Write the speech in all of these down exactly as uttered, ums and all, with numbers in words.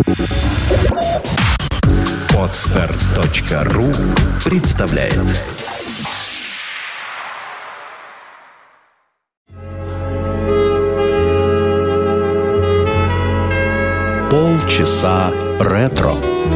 Подстер точка ру представляет. Полчаса ретро.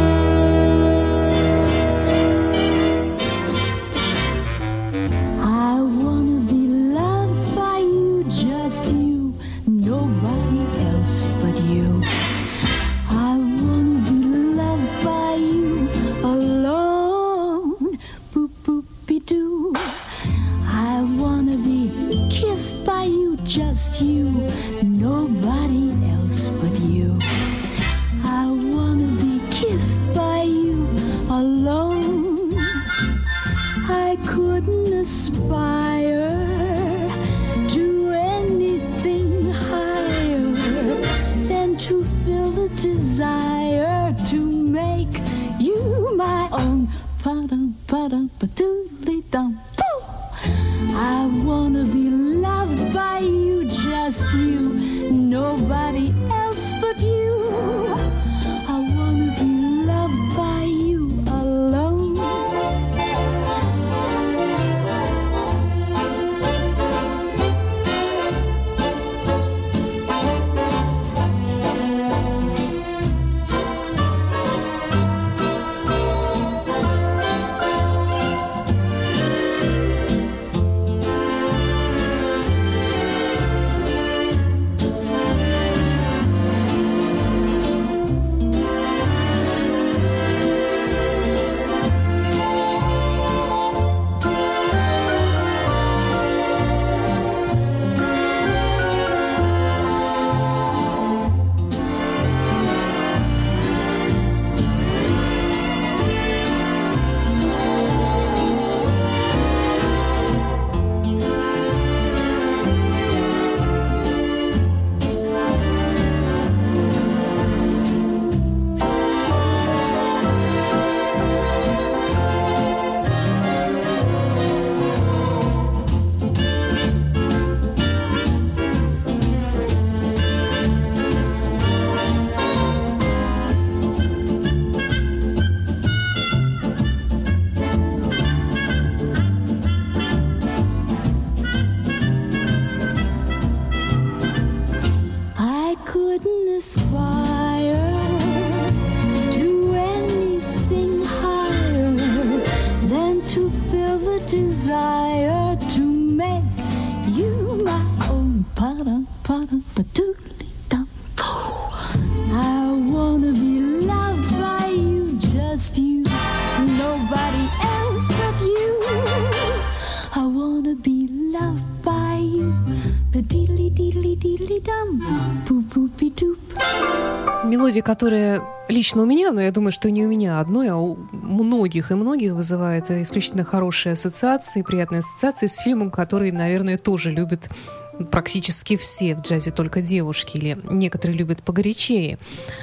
Мелодия, которая лично у меня, но я думаю, что не у меня одной, а у многих и многих вызывает исключительно хорошие ассоциации, приятные ассоциации с фильмом, который, наверное, тоже любят практически все в джазе, только девушки, или некоторые любят погорячее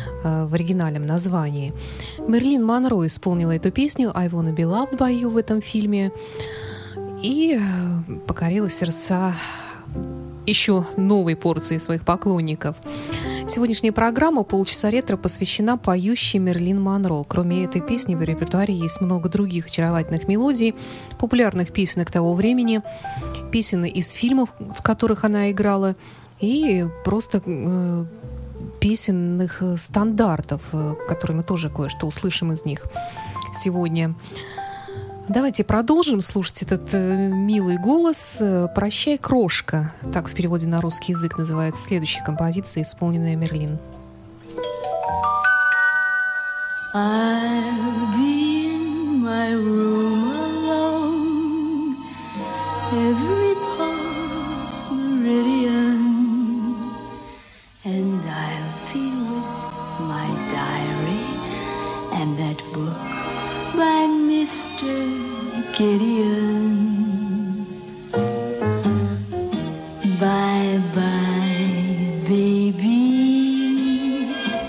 в оригинальном названии. Мэрилин Монро исполнила эту песню «I Wanna Be Loved By You» в этом фильме и покорила сердца еще новой порции своих поклонников. Сегодняшняя программа «Полчаса ретро» посвящена поющей Мэрилин Монро. Кроме этой песни в репертуаре есть много других очаровательных мелодий, популярных песенок того времени, песен из фильмов, в которых она играла, и просто э, песенных стандартов, э, которые мы тоже кое-что услышим из них сегодня. Давайте продолжим слушать этот э, милый голос. «Прощай, крошка». Так в переводе на русский язык называется следующая композиция, исполненная Мэрилин. I'll be in my room alone. Every pulse meridian. And I'll be with my diary and that book by Mister Gideon. Bye-bye, baby.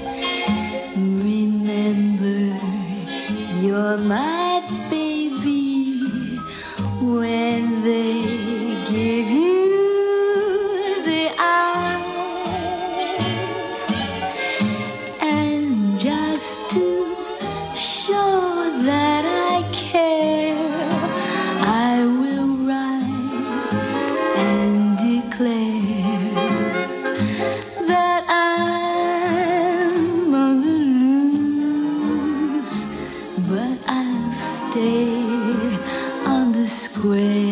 Remember, you're my baby. When they give you the eye, and just to show that I care, I will write and declare that I'm on the loose, but I'll stay on the square.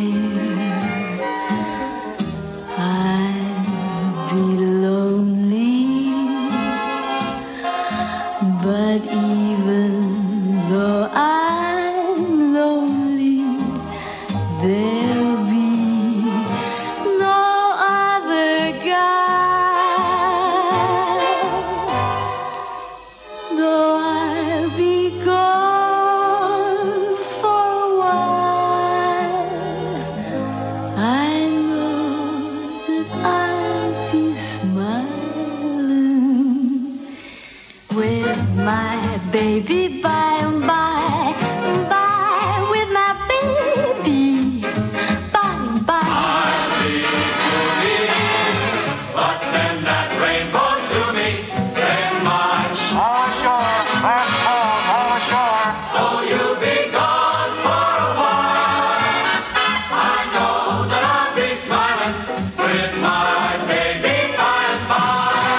I'll be lonely, but even though I'm lonely, there'll be no other guy. Though I'll be gone for a while, I know that I'll be smiling with my baby by and by, by with my baby by and by. I'll be to me, but send that rainbow to me. Then my All ashore, last call, all ashore. oh, you'll be gone for a while. I know that I'll be smiling with my baby by and by.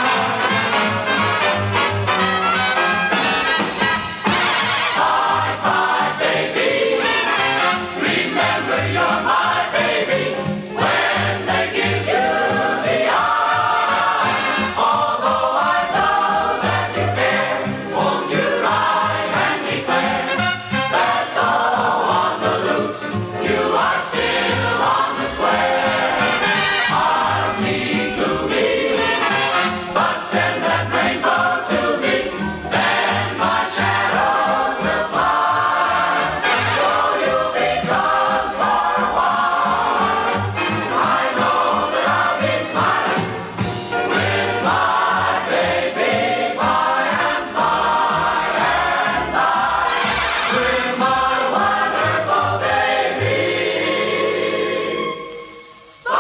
Bye bye, baby. Remember you're my baby when they give you the eye. Although I know that you care, won't you write and declare that though on the loose, you are still on the square? I'll be gloomy, but send that rainbow to me, then my shadows will fly. Though you'll be gone for a while, I know that I'll be smiling with my baby by and by and by, with my wonderful baby by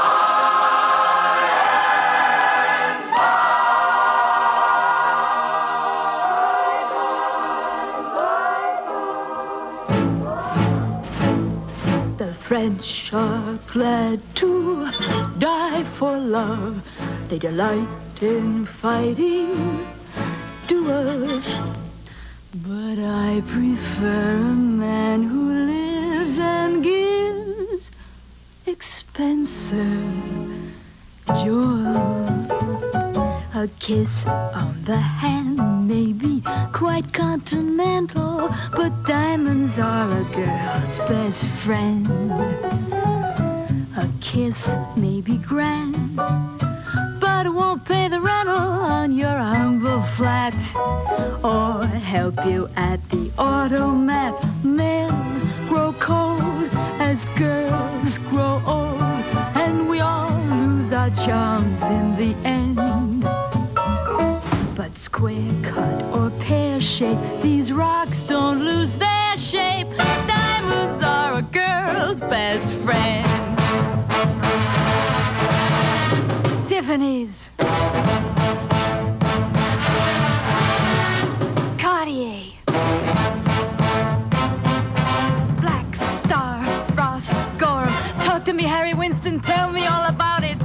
The French are glad to die for love. They delight in fighting duels. But I prefer a man who lives and gives expensive jewels. A kiss on the hand may be quite continental, but diamonds are a girl's best friend. A kiss may be grand, but it won't pay the rental on your humble flat or help you at the automat. Men grow cold as girls grow old, and we all lose our charms in the end. But square cut or pear shape, these rocks don't lose their shape. Diamonds are a girl's best friend. Tiffany's, Cartier, Black Star, Ross Gorham. Talk to me, Harry Winston, tell me all about it.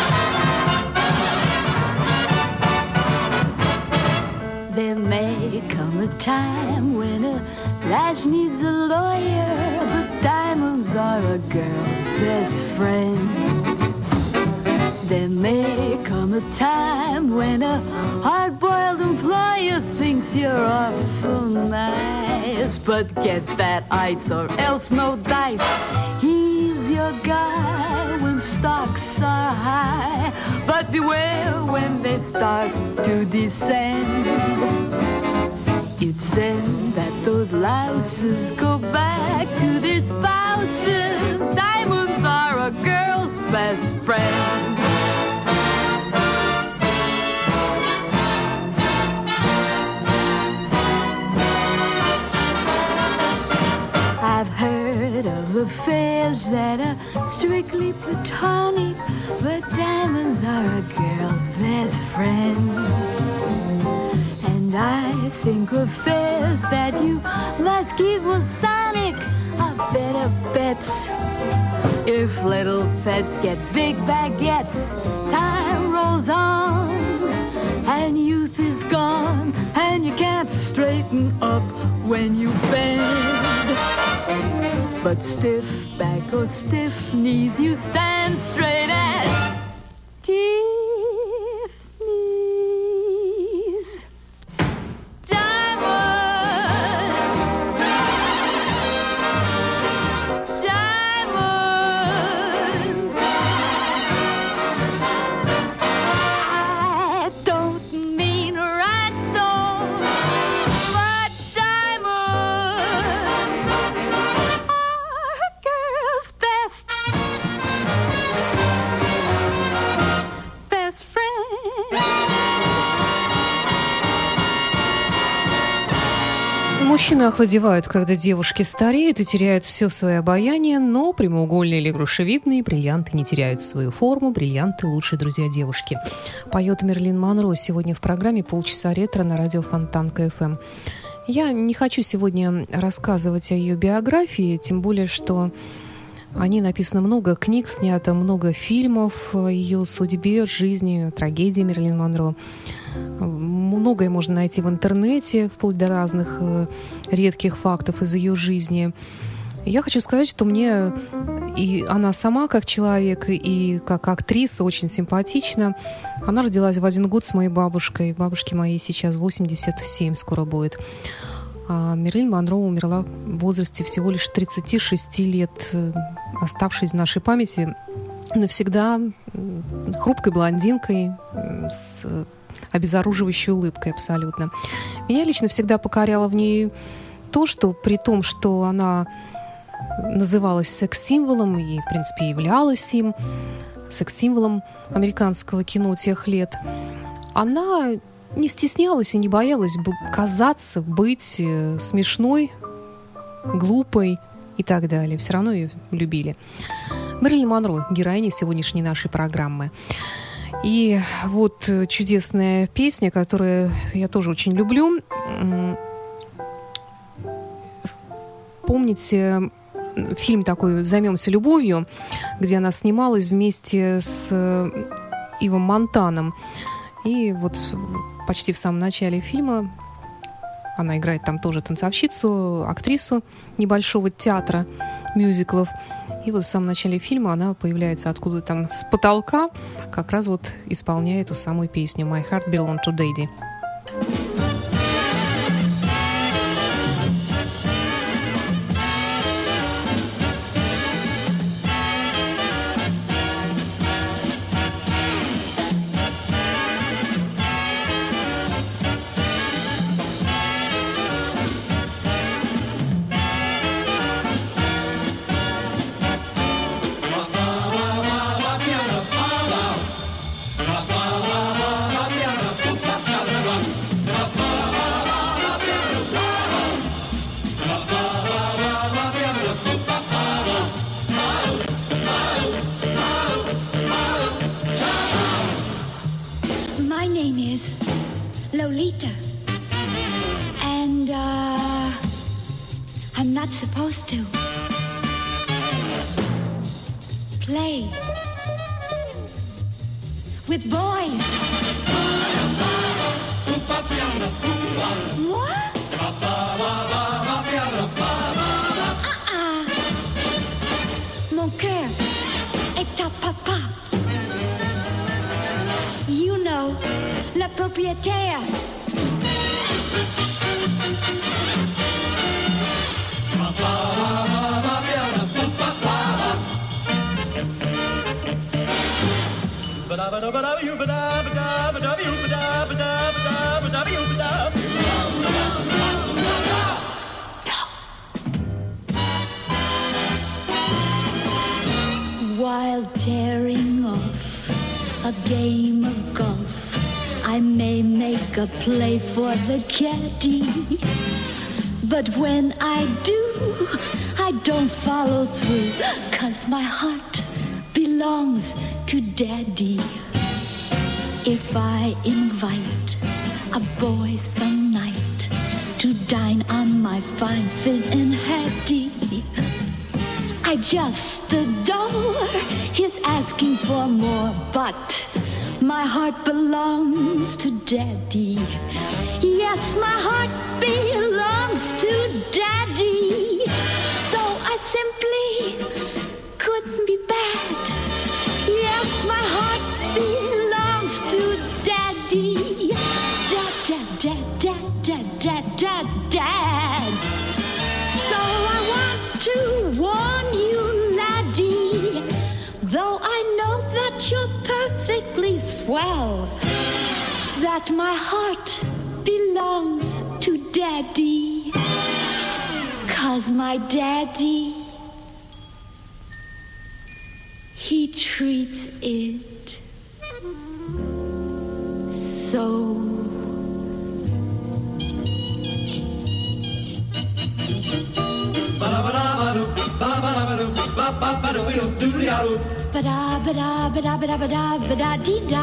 There may come a time when a lass needs a lawyer, but diamonds are a girl's best friend. There may come a time when a hard-boiled employer thinks you're awful nice, but get that ice or else no dice. He's your guy when stocks are high, but beware when they start to descend. It's then that those louses go back to their spouses. Diamonds are a girl's best friend. I've heard of affairs that are strictly platonic, but diamonds are a girl's best friend. And I think of fares that you must give was Sonic a better bets. If little pets get big baguettes, time rolls on, and youth is gone, and you can't straighten up when you bend. But stiff back or stiff knees, you stand straight as Tiffany's. Diamonds, diamonds. I don't mean rhinestones, but diamonds are a girl's best, best friend. Мужчины охладевают, когда девушки стареют и теряют все свое обаяние, но прямоугольные или грушевидные бриллианты не теряют свою форму. Бриллианты – лучшие друзья девушки. Поет Мерлин Монро сегодня в программе «Полчаса ретро» на радио Фонтанка эф эм. Я не хочу сегодня рассказывать о ее биографии, тем более, что о ней написано много книг, снято много фильмов о ее судьбе, жизни, трагедии Мерлин Монро. Многое можно найти в интернете, вплоть до разных э, редких фактов из ее жизни. Я хочу сказать, что мне и она сама как человек, и как актриса очень симпатична. Она родилась в один год с моей бабушкой. Бабушке моей сейчас восемьдесят семь скоро будет. А Мерлин Монро умерла в возрасте всего лишь тридцати шести лет, оставшись в нашей памяти навсегда хрупкой блондинкой с обезоруживающей улыбкой абсолютно. Меня лично всегда покоряло в ней то, что при том, что она называлась секс-символом и, в принципе, являлась им, секс-символом американского кино тех лет, она не стеснялась и не боялась бы казаться, быть смешной, глупой и так далее. Все равно ее любили. Мерлин Монро, героиня сегодняшней нашей программы. И вот чудесная песня, которую я тоже очень люблю. Помните фильм такой «Займемся любовью», где она снималась вместе с Ивом Монтаном. И вот почти в самом начале фильма она играет там тоже танцовщицу, актрису небольшого театра мюзиклов. И вот в самом начале фильма она появляется откуда там с потолка, как раз вот исполняя эту самую песню «My Heart Belongs to Daddy». My name is Lolita, and uh, I'm not supposed to play with boys. What? Uh-uh. Mon cœur est à papa. You know, le propriétaire. While tearing off a game of golf, I may make a play for the caddy, but when I do, I don't follow through, 'cause my heart belongs to Daddy. If I invite a boy some night to dine on my fine Finn and Hattie. I just adore his asking for more, but my heart belongs to Daddy. Yes, my heart belongs to Daddy. So I simply couldn't be bad. Yes, my heart belongs to Daddy. Dad, dad, dad, dad, dad, dad, dad, dad. So I want to warn you, laddie, though I know that you're perfectly swell, that my heart belongs to Daddy, 'cause my Daddy, he treats it so. Ba-da, ba-da, ba-da, ba-da, ba-da, ba-da, dee-da.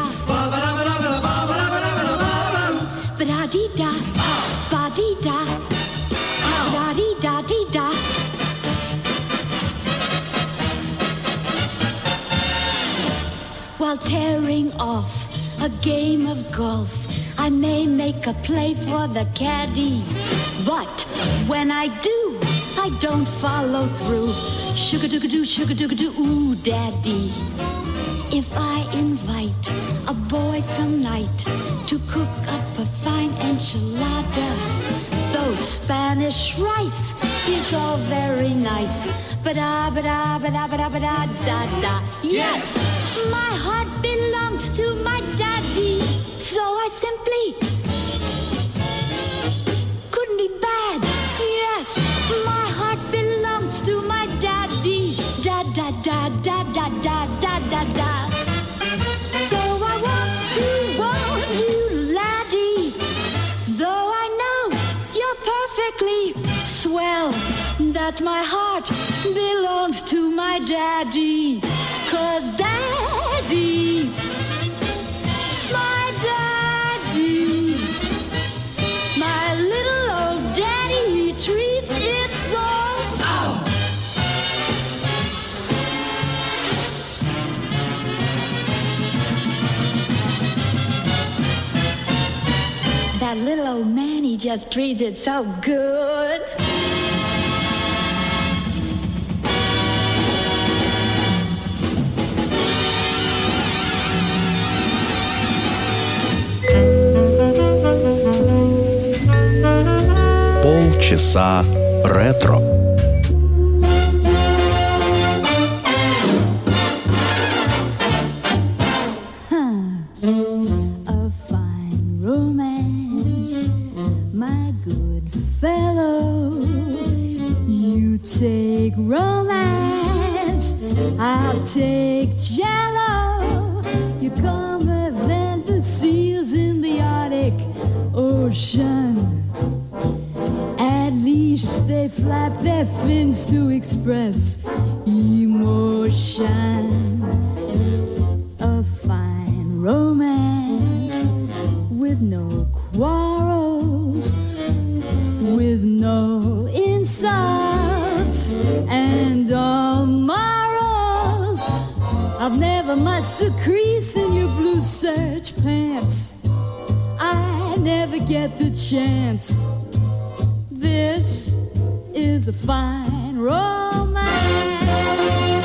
Ba-da, dee-da, ba-dee-da, ba-da-dee-da, dee-da. While tearing off a game of golf, I may make a play for the caddy, but when I do, I don't follow through. Sugar-doo-ga-doo, sugar-doo-ga-doo, ooh, Daddy. If I invite a boy some night to cook up a fine enchilada, though Spanish rice is all very nice, ba-da, ba-da, ba-da, ba-da, ba-da, da-da. Yes, my heart belongs to my Daddy, so I simply couldn't be bad. Yes, my heart belongs to my Daddy, da da da da da da da da da. So I want to warn you, laddie, though I know you're perfectly swell, that my heart belongs to my Daddy, 'cause Daddy, my Daddy, my little old Daddy, he treats it so. Oh. That little old man, he just treats it so good. Полчаса ретро. A fine romance, my good fellow. You take romance, I'll take jello. You're calmer than the seals in the Arctic Ocean. At least they flap their fins to express emotion. A fine romance with no quarrels, with no insults and all morals. I've never much to crease in your blue serge pants. I never get the chance. This is a fine romance.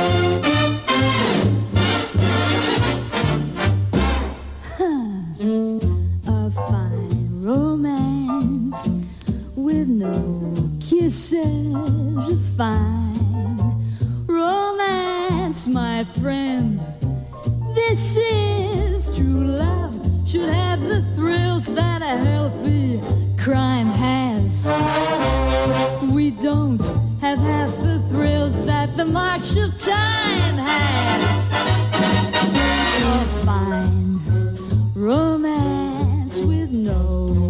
Huh. A fine romance with no kisses. A fine romance, my friend. This is true love. Should have the thrills that a healthy crime has. We don't have half the thrills that the march of time has. A fine romance with no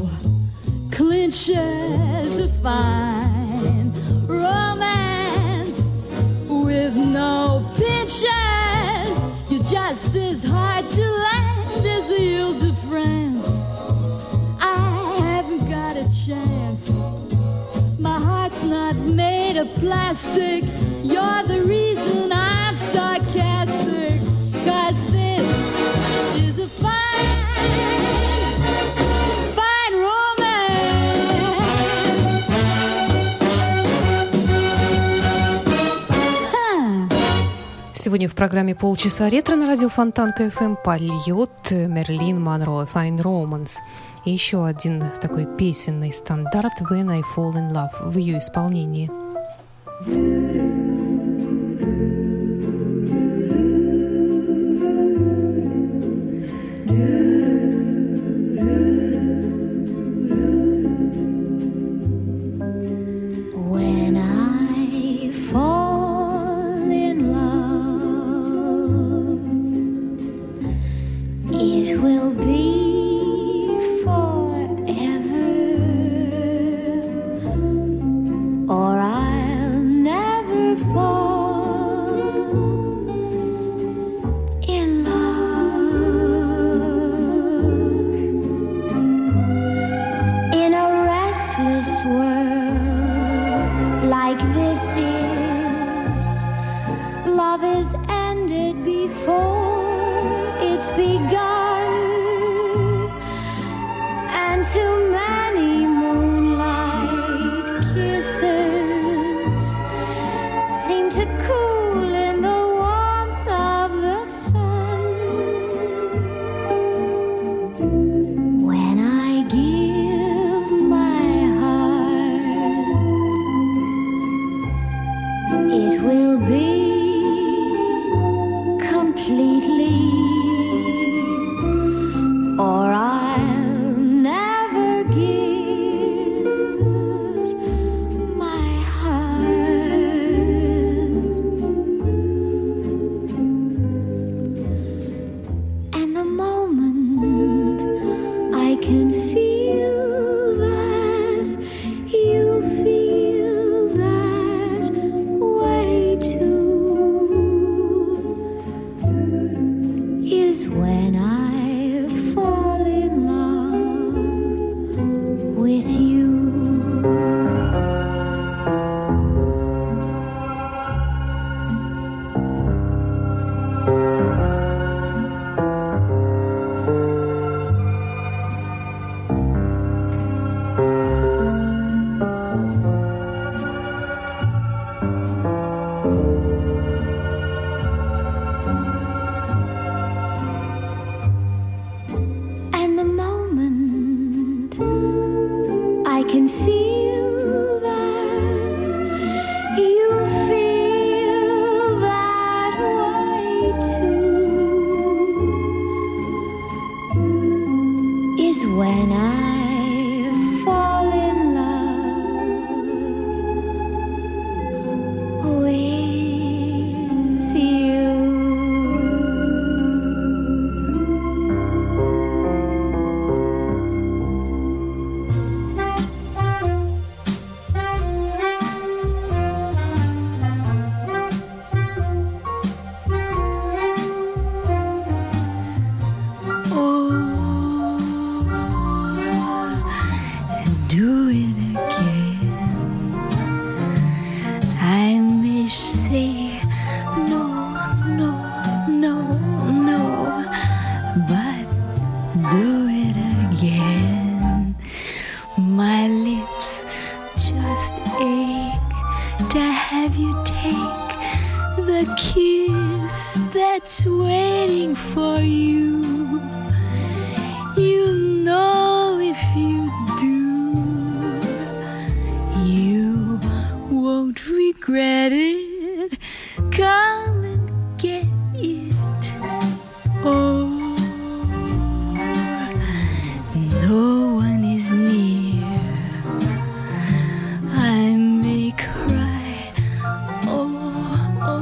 clinches. A fine romance with no pinches. You're just as hard to land as the Ile de France. I My heart's not made of plastic. You're the reason I'm sarcastic. 'Cause this is a fine, fine romance. Huh. Сегодня в программе «Полчаса ретро» на радио Фонтанка эф эм польет Мерлин Монро «Fine Romance». И еще один такой песенный стандарт «When I Fall in Love» в ее исполнении. When I fall in love, it will be forever, or I'll never fall in love. In a restless world like this is, love is ended before it's begun, and too many moonlight kisses seem to cool in the warmth of the sun. When I give my heart, it will be completely, or I'll never give my heart. And the moment I can feel that you feel that way too is when I fall in love with you. And the moment I can feel that you feel that way too is when I fall in love with you. Do it again. I may say no, no, no, no, but do it again. My lips just ache to have you take the kiss that's waiting for you. You know if you do, you won't regret it. Come and get it. Oh, no one is near. I may cry. Oh, oh,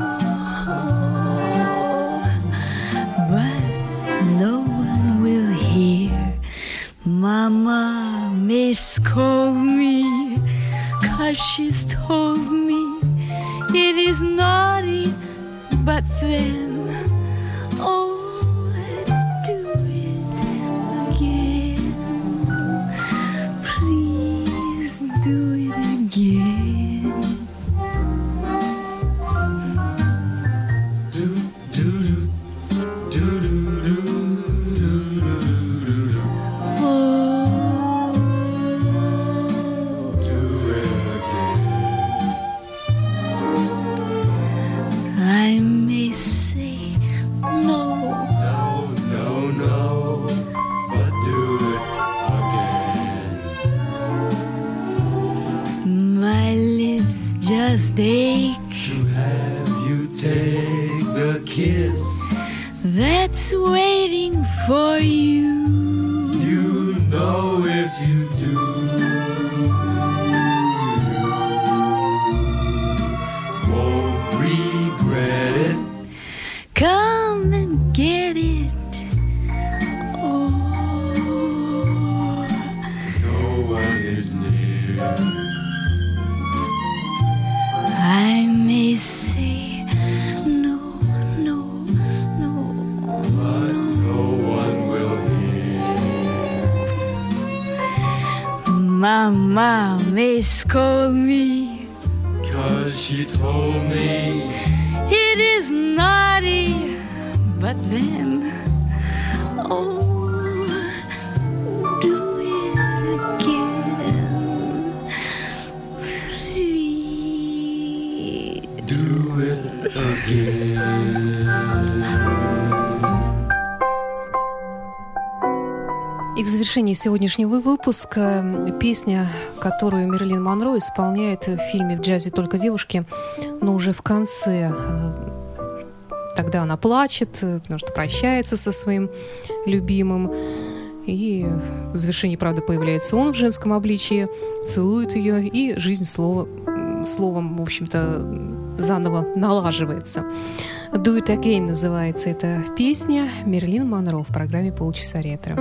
oh, but no one will hear. Mama may scold me, 'cause she's told me it is naughty, but then, oh, do it again. Please do it again. I may say no, No, no, no, but do it again. my lips just ache. To have you take the kiss, That's waiting for you. you know if you do, won't regret it. Come and get it. Oh, No one is near. I may say no, no, no, But no one will hear. Mama may scold me. 'Cause she told me It is naughty, but then, oh, do it again, please. do it again. И в завершении сегодняшнего выпуска песня, которую Мэрилин Монро исполняет в фильме «В джазе только девушки», но уже в конце. Тогда она плачет, потому что прощается со своим любимым. И в завершении, правда, появляется он в женском обличии, целует ее, и жизнь слова, словом, в общем-то, заново налаживается. «Do It Again» называется эта песня. Мэрилин Монро в программе «Полчаса ретро».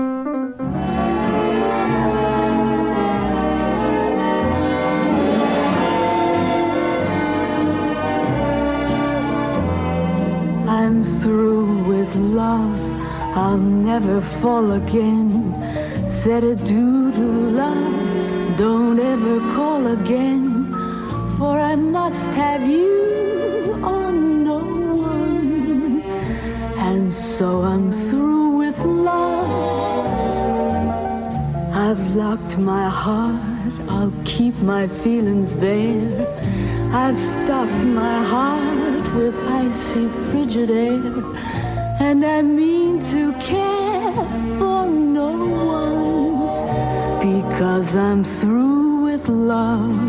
I'm through with love, I'll never fall again. Said adieu to love, don't ever call again. For I must have you on no one. And so I'm through with love. I've locked my heart, I'll keep my feelings there. I've stocked my heart with icy frigid air, and I mean to care for no one, because I'm through with love.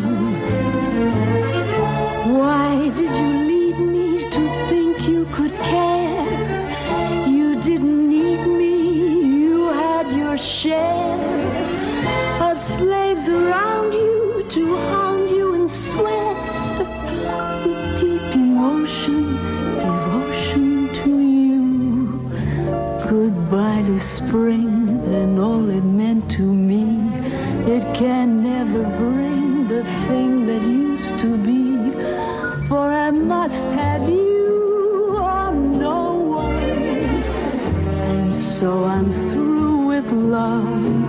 Why did you lead me to think you could care? You didn't need me, you had your share of slaves around you to hound you and sweat. With deep emotion, devotion to you. Goodbye to spring and all it meant to me. It can never bring the thing that used to be. For I must have you or no one. And so I'm through with love.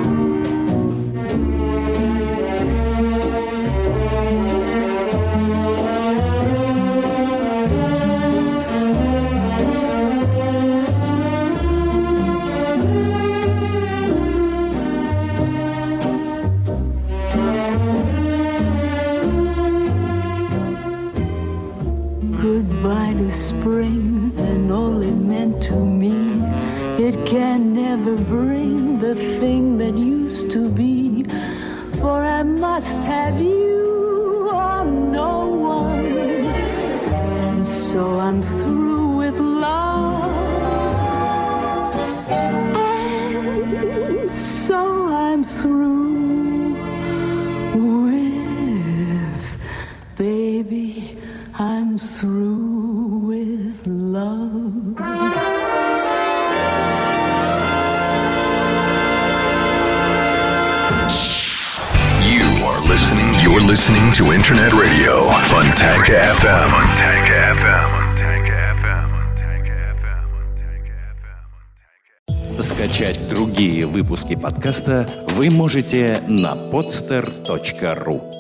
Goodbye to spring and all it meant to me. It can never bring the thing that used to be. For I must have you or no one. And so I'm through with love. And so I'm through with, baby, I'm through with love. You are listening. You're listening to Internet Radio, Fontanka F M. Fontanka F M. The Скачать другие выпуски подкаста вы можете на podster точка ру.